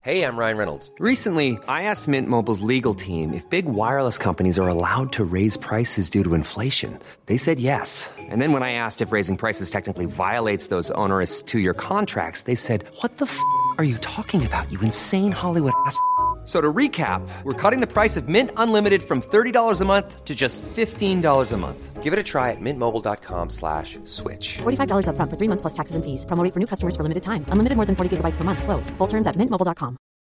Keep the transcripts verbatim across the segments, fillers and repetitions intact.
Hey, I'm Ryan Reynolds. Recently, I asked Mint Mobile's legal team if big wireless companies are allowed to raise prices due to inflation. They said yes. And then when I asked if raising prices technically violates those onerous two-year contracts, they said, what the f*** are you talking about, you insane Hollywood ass f- So to recap, we're cutting the price of Mint Unlimited from thirty dollars a month to just fifteen dollars a month. Give it a try at mintmobile.com slash switch. forty-five dollars up front for three months plus taxes and fees. Promo rate for new customers for limited time. Unlimited more than forty gigabytes per month. Slows full terms at mint mobile dot com.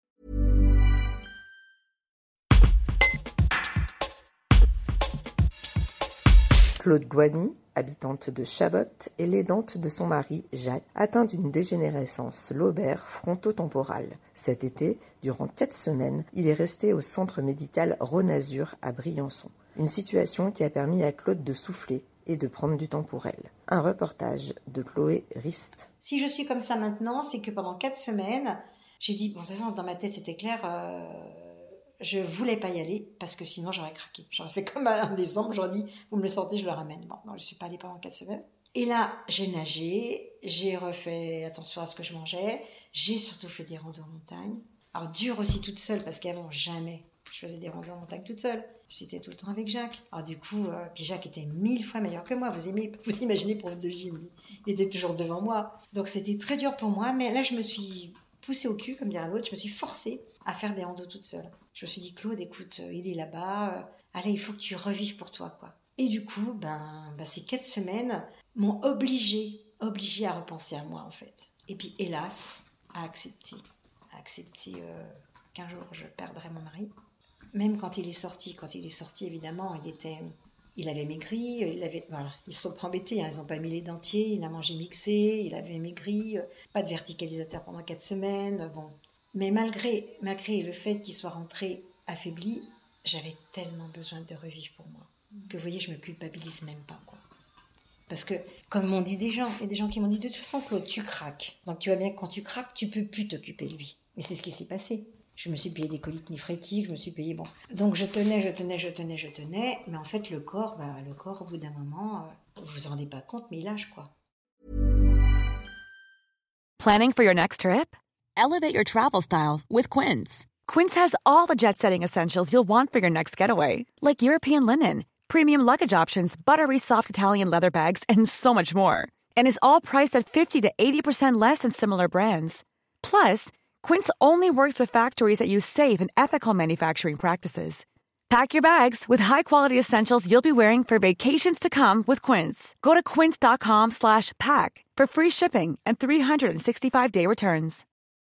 Claude Gouani, habitante de Chabot, et l'aidante de son mari, Jacques, atteint d'une dégénérescence lobaire frontotemporale. Cet été, durant quatre semaines, il est resté au centre médical Rhône-Azur à Briançon. Une situation qui a permis à Claude de souffler et de prendre du temps pour elle. Un reportage de Chloé Rist. Si je suis comme ça maintenant, c'est que pendant quatre semaines, j'ai dit, bon, de toute façon, dans ma tête, c'était clair, euh, je voulais pas y aller, parce que sinon, j'aurais craqué. J'aurais fait comme en décembre, j'aurais dit, vous me le sortez, je le ramène. Bon, non, je suis pas allée pendant quatre semaines. Et là, j'ai nagé, j'ai refait attention à ce que je mangeais, j'ai surtout fait des randos en montagne. Alors, dur aussi toute seule, parce qu'avant, jamais je faisais des randos en montagne toute seule. J'étais tout le temps avec Jacques. Alors du coup, euh, puis Jacques était mille fois meilleur que moi. Vous, aimez, vous imaginez pour de gym, lui. Il était toujours devant moi. Donc c'était très dur pour moi. Mais là, je me suis poussée au cul, comme dirait l'autre. Je me suis forcée à faire des randos toute seule. Je me suis dit, Claude, écoute, euh, il est là-bas. Euh, allez, il faut que tu revives pour toi, quoi. Et du coup, ben, ben, ces quatre semaines m'ont obligée, obligée à repenser à moi, en fait. Et puis, hélas, à accepter. À accepter euh, qu'un jour, je perdrai mon mari. Même quand il est sorti, quand il est sorti, évidemment, il était, il avait maigri, il avait, voilà, ils se sont pas embêtés, hein, ils n'ont pas mis les dentiers, il a mangé mixé, il avait maigri, pas de verticalisateur pendant quatre semaines, bon. Mais malgré, malgré le fait qu'il soit rentré affaibli, j'avais tellement besoin de revivre pour moi, que vous voyez, je me culpabilise même pas, quoi. Parce que, comme m'ont dit des gens, il y a des gens qui m'ont dit, de toute façon, Claude, tu craques. Donc tu vois bien que quand tu craques, tu peux plus t'occuper de lui. Et c'est ce qui s'est passé. Je me suis payé des coliques néphrétiques, je me suis payé, bon. Donc je tenais, je tenais, je tenais, je tenais, mais en fait le corps, bah, le corps au bout d'un moment, euh, vous vous en rendez pas compte, mais il lâche, quoi. Planning for your next trip? Elevate your travel style with Quince. Quince has all the jet-setting essentials you'll want for your next getaway, like European linen, premium luggage options, buttery soft Italian leather bags, and so much more. And is all priced at fifty to eighty percent less than similar brands. Plus, Quince only works with factories that use safe and ethical manufacturing practices. Pack your bags with high-quality essentials you'll be wearing for vacations to come with Quince. Go to quince.com slash pack for free shipping and three sixty-five day returns.